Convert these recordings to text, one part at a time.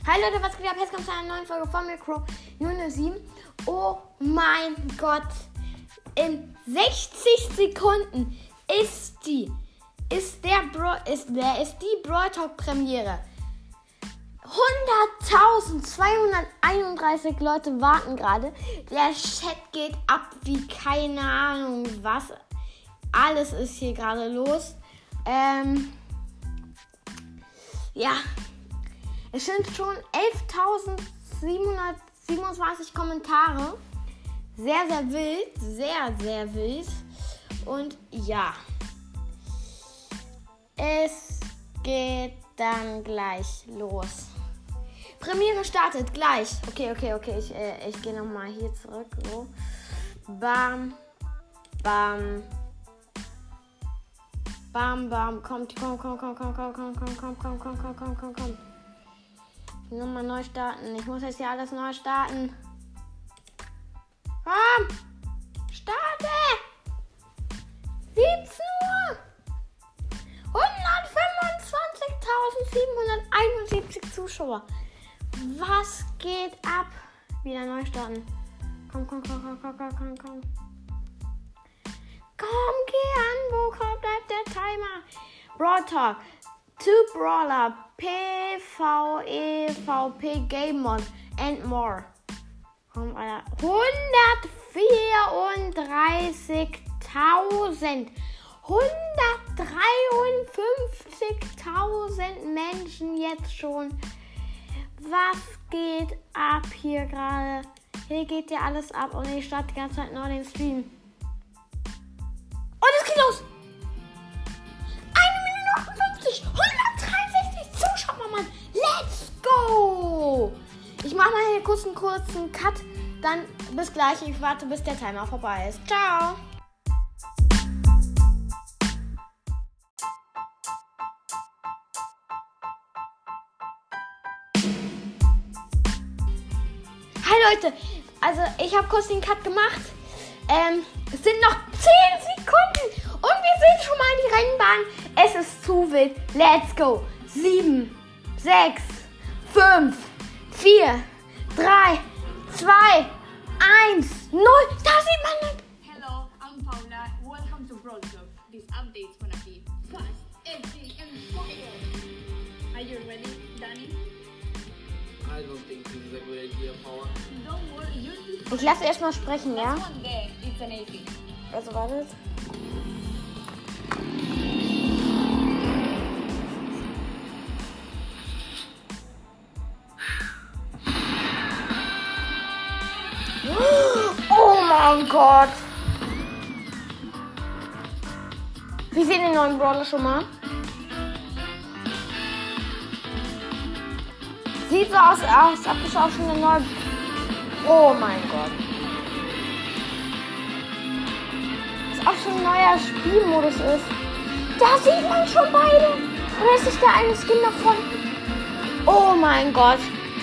Hi Leute, was geht ab? Jetzt kommt zu einer neuen Folge von Micro 007. Oh mein Gott. In 60 Sekunden ist die Brawl Talk Premiere. 100.231 Leute warten gerade. Der Chat geht ab wie keine Ahnung was. Alles ist hier gerade los. Ja. Es sind schon 11.727 Kommentare. Sehr, sehr wild. Sehr, sehr wild. Und ja. Es geht dann gleich los. Premiere startet gleich. Okay. Ich gehe nochmal hier zurück. So. Bam. Bam. Bam, bam. Komm. Nochmal neu starten. Ich muss jetzt hier alles neu starten. Komm! Starte! 17 Uhr! 125.771 Zuschauer. Was geht ab? Wieder neu starten. Komm. Komm, geh an. Wo bleibt der Timer? Brawl Talk. 2 Brawler, PvE, VP, Game Mod and more. Komm, Alter. 134.000. 153.000 Menschen jetzt schon. Was geht ab hier gerade? Hier geht ja alles ab und ich starte die ganze Zeit neu den Stream. Und es geht los! 163 Zuschauer, Mann. Let's go! Ich mache mal hier kurz einen kurzen Cut. Dann bis gleich. Ich warte, bis der Timer vorbei ist. Ciao! Hi Leute, also ich habe kurz den Cut gemacht. Es sind noch 10 Sekunden und wir sind schon mal in die Rennbahn. Es ist zu wild. Let's go. 7, 6, 5, 4, 3, 2, 1, 0. Da sieht man nicht. Hello, I'm Paula. Welcome to Brawl Talk. This update's gonna be fast, edgy, and fire. Are you ready, Danny? I don't think this is a good idea, Paula. Don't worry, you'll be fine. Ich lasse erstmal sprechen, ja? That's one there. It's an 80. Also wartet. Oh mein Gott. Wir sehen den neuen Brawler schon mal. Sieht so aus, als ob es auch schon eine neue... Oh mein Gott. Als ob schon ein neuer Spielmodus ist. Da sieht man schon beide. Oder ist es der eine Skin davon? Oh mein Gott.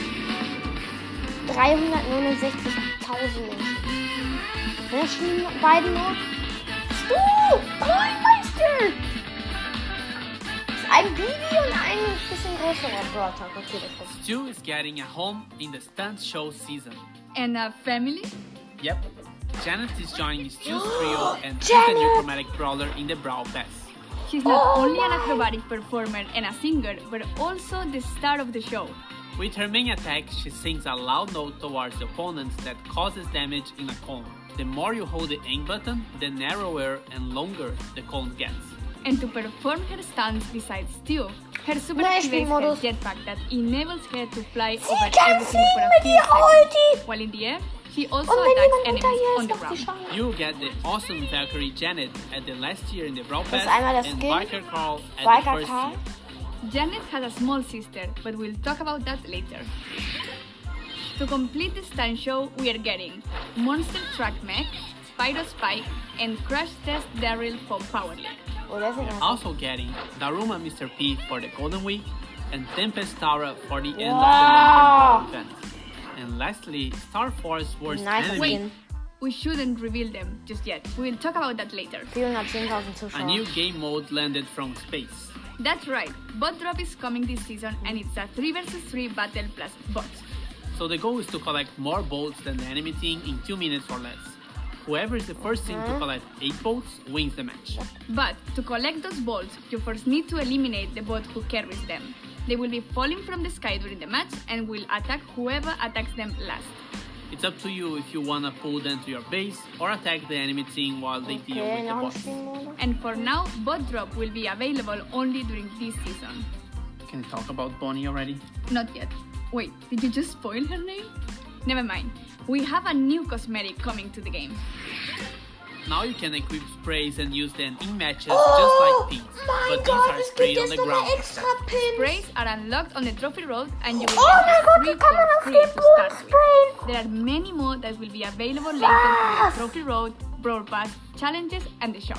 369.000 Menschen. Wer spielen beide nur? Meister! Das ist ein Bibi und ein bisschen größerer Brawl Talk. Okay, das ist Stu is getting a home in the stunt show season. And a family? Yep. Janet is joining Stu's trio and she's a new chromatic brawler in the Brawl Pass. She's not only an acrobatic performer and a singer, but also the star of the show. With her main attack, she sings a loud note towards the opponents that causes damage in a cone. The more you hold the aim button, the narrower and longer the cone gets. And to perform her stunts besides Stu, her super activates her jetpack that enables her to fly over everything for a few seconds. While in the air, she also attacks enemies on the ground. You get the awesome Valkyrie Janet at the last year in the Brawl Pass einmal das and Skin. Biker Carl at the first year. Janet has a small sister, but we'll talk about that later. To complete the stunt show, we are getting Monster Truck Mech, Spyro Spike, and Crash Test Daryl from Power League. Oh, das ist Also getting Daruma Mr. P for the Golden Week and Tempest Tara for the end of the long-term event. And lastly, Star Force Worst Nice Enemy. skin. We shouldn't reveal them just yet. We'll talk about that later. 410.000 A Zuschauer. new game mode landed from space. That's right, Bot Drop is coming this season and it's a 3 vs 3 battle plus bots. So the goal is to collect more boats than the enemy team in 2 minutes or less. Whoever is the first team to collect 8 boats wins the match. But to collect those bolts, you first need to eliminate the bot who carries them. They will be falling from the sky during the match and will attack whoever attacks them last. It's up to you if you wanna pull them to your base or attack the enemy team while they deal with the bots. And for now, Bot Drop will be available only during this season. Can you talk about Bonnie already? Not yet. Wait, did you just spoil her name? Never mind. We have a new cosmetic coming to the game. Now you can equip sprays and use them in matches just like pins. But these are sprayed on the ground. Sprays are unlocked on the trophy road and you will Oh get my god, 3 wir for kann man free auf to den start Boden with. There are many more that will be available later through the trophy road, Brawl Pass, challenges and the shop.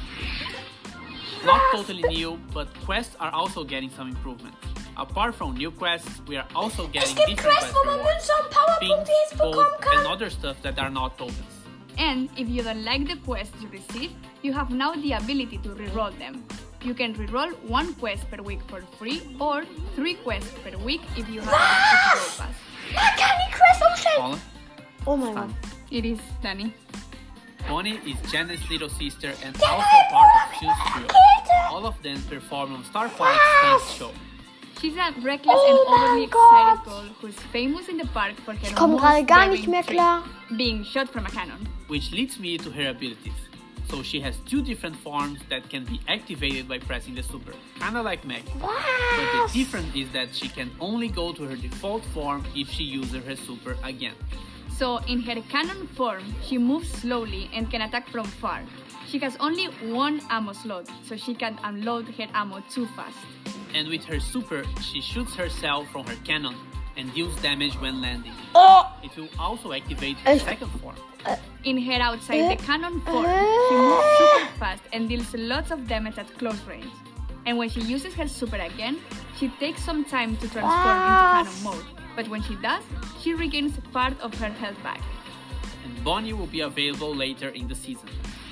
Not totally new, but quests are also getting some improvements. Apart from new quests, we are also getting different quest rewards, pins, gold, and other stuff that are not tokens. And if you don't like the quests you receive, you have now the ability to reroll them. You can reroll 1 quest per week for free or 3 quests per week if you have a Brawl Pass. Man kann die Quest umstellen. Paula? Oh mein Gott. It is, Danny. Bonnie is Janet's little sister and also part of Juice Trio. All of them perform on Starfight's stage show. She's a reckless and Oh mein overly Gott. excited girl who is famous in the park for her Ich komme most gerade gar daring nicht mehr trick, klar. being shot from a cannon. Which leads me to her abilities. So she has 2 different forms that can be activated by pressing the super, kinda like Meg. But the difference is that she can only go to her default form if she uses her super again. So in her cannon form, she moves slowly and can attack from far. She has only 1 ammo slot, so she can unload her ammo too fast. And with her super, she shoots herself from her cannon and deals damage when landing. Oh, It will also activate her second form. In her outside the cannon form, she moves super fast and deals lots of damage at close range. And when she uses her super again, she takes some time to transform into cannon mode. But when she does, she regains part of her health back. And Bonnie will be available later in the season.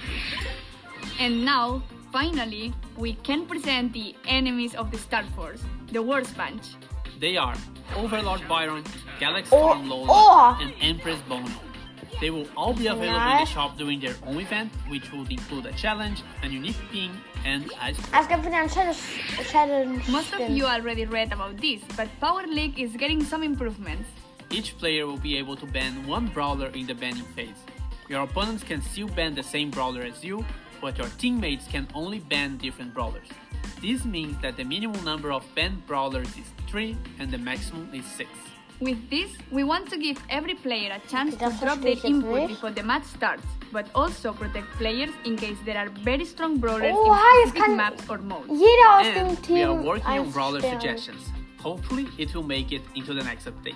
And now, finally, we can present the enemies of the Star Force, the Worst Bunch. They are Overlord Byron, Galax Storm Lola, and Empress Bono. They will all be available in the shop during their own event, which will include a challenge, a unique pin, and a es gibt wieder ein Challenge. Most of you already read about this, but Power League is getting some improvements. Each player will be able to ban 1 brawler in the banning phase. Your opponents can still ban the same brawler as you, but your teammates can only ban different brawlers. This means that the minimum number of banned brawlers is 3 and the maximum is 6. With this, we want to give every player a chance to Das drop verstehe their ich jetzt input nicht. before the match starts, but also protect players in case there are very strong brawlers Oh, in es specific kann maps or modes. Jeder aus dem And we are Team working on eins brawler stellen. suggestions. Hopefully it will make it into the next update.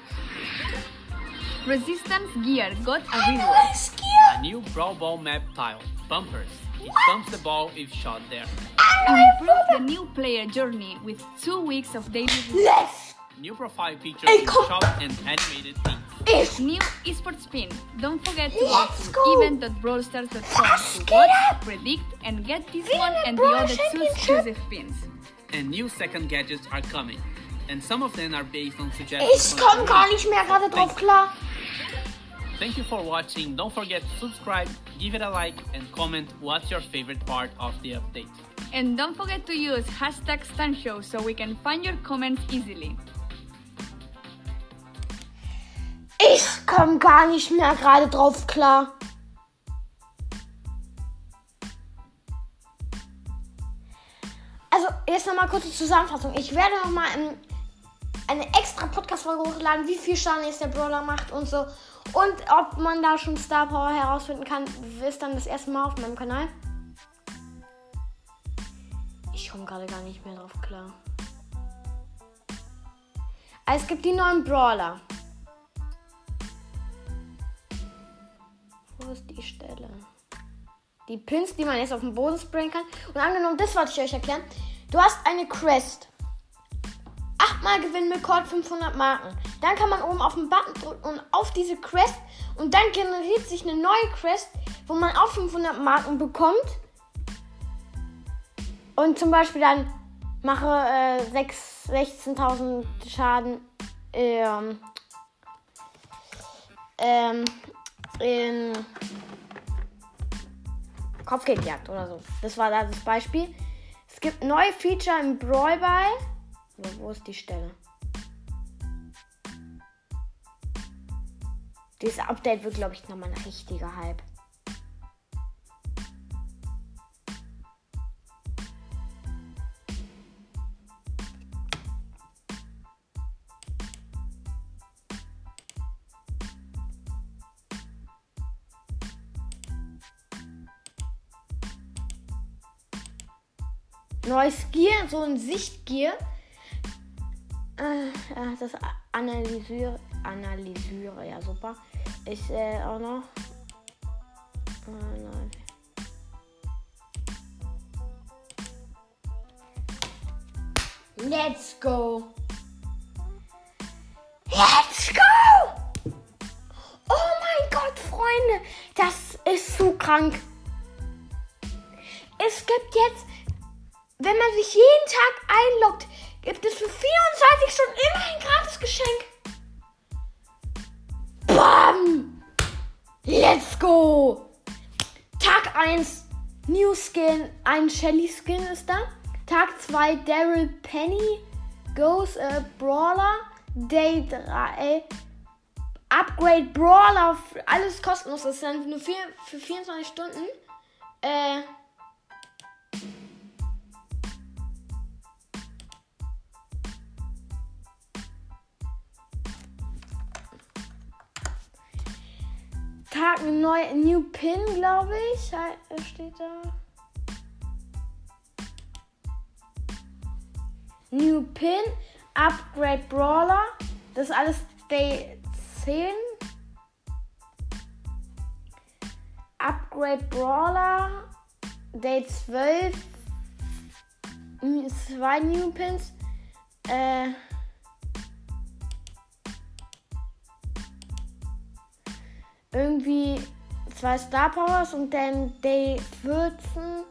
Resistance Gear got a reward. Neues Gear. A new Brawl Ball map tile, Bumpers. It bumps the ball if shot there. Improve the new player journey with 2 weeks of daily rewards. Left. New profile pictures in the shop and animated things. Ich. New esports pin. Don't forget to Let's go go. to event.brawlstars.com Let's to get watch, up. predict, and get this Win one the and the Brawl other 2 Championship. exclusive pins. And new second gadgets are coming. And some of them are based on suggestions. Ich from komme the gar community. nicht mehr gerade drauf klar. Thank you for watching. Don't forget to subscribe, give it a like, and comment what's your favorite part of the update. And don't forget to use hashtag StunShow so we can find your comments easily. Ich komme gar nicht mehr gerade drauf klar. Also, jetzt nochmal kurze Zusammenfassung. Ich werde nochmal eine extra Podcast-Folge hochladen, wie viel Schaden jetzt der Brawler macht und so. Und ob man da schon Star Power herausfinden kann, ist dann das erste Mal auf meinem Kanal. Ich komme gerade gar nicht mehr drauf klar. Also, es gibt die neuen Brawler. Wo ist die Stelle? Die Pins, die man jetzt auf den Boden sprayen kann. Und angenommen, das wollte ich euch erklären. Du hast eine Quest. 8-mal gewinnen mit Code 500 Marken. Dann kann man oben auf den Button drücken und auf diese Quest. Und dann generiert sich eine neue Quest, wo man auch 500 Marken bekommt. Und zum Beispiel dann Mache 16.000 Schaden in Kopfgeldjagd oder so. Das war da das Beispiel. Es gibt neue Feature im Brawl Ball. Wo ist die Stelle? Dieses Update wird, glaube ich, nochmal ein richtiger Hype. Neues Gear, so ein Sichtgear. Das analysiere, ja super. Ich auch noch. Nein. Let's go! Let's go! Oh mein Gott, Freunde! Das ist so krank. Es gibt jetzt, wenn man sich jeden Tag einloggt, gibt es für 24 Stunden immer ein Gratis-Geschenk. Bam! Let's go! Tag 1, New Skin, ein Shelly Skin ist da. Tag 2, Daryl Penny, Goes Brawler. Day 3, Upgrade Brawler, alles kostenlos. Das ist dann nur für 24 Stunden. Tag New Pin, glaube ich. Steht da. New Pin, Upgrade Brawler. Das ist alles Day 10. Upgrade Brawler. Day 12. 2 New Pins. Irgendwie 2 Star Powers und dann Day 14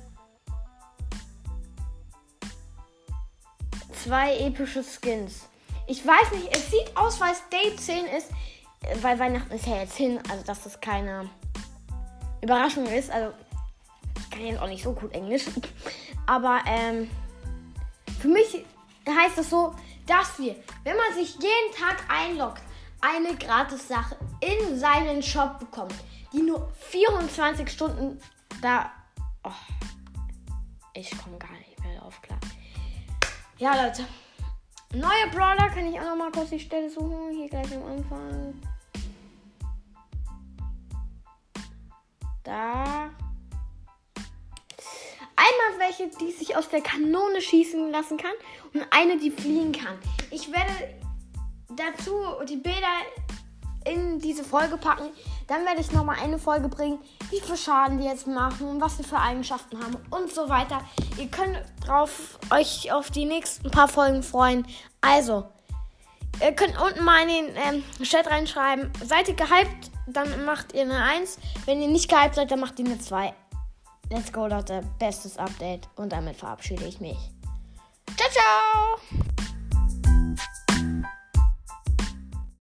2 epische Skins. Ich weiß nicht, es sieht aus, weil es Day 10 ist, weil Weihnachten ist ja jetzt hin, also dass das keine Überraschung ist. Also ich kann jetzt auch nicht so gut Englisch, aber für mich heißt es so, dass wir, wenn man sich jeden Tag einloggt, eine Gratis-Sache in seinen Shop bekommt, die nur 24 Stunden da... Oh, ich komme gar nicht mehr drauf klar. Ja, Leute. Neue Brawler, kann ich auch noch mal kurz die Stelle suchen. Hier gleich am Anfang. Da. Einmal welche, die sich aus der Kanone schießen lassen kann und eine, die fliegen kann. Ich werde dazu die Bilder in diese Folge packen. Dann werde ich nochmal eine Folge bringen, wie viel Schaden die jetzt machen und was sie für Eigenschaften haben und so weiter. Ihr könnt euch auf die nächsten paar Folgen freuen. Also, ihr könnt unten mal in den Chat reinschreiben, seid ihr gehypt, dann macht ihr eine 1. Wenn ihr nicht gehypt seid, dann macht ihr eine 2. Let's go, Leute. Bestes Update. Und damit verabschiede ich mich. Ciao, ciao!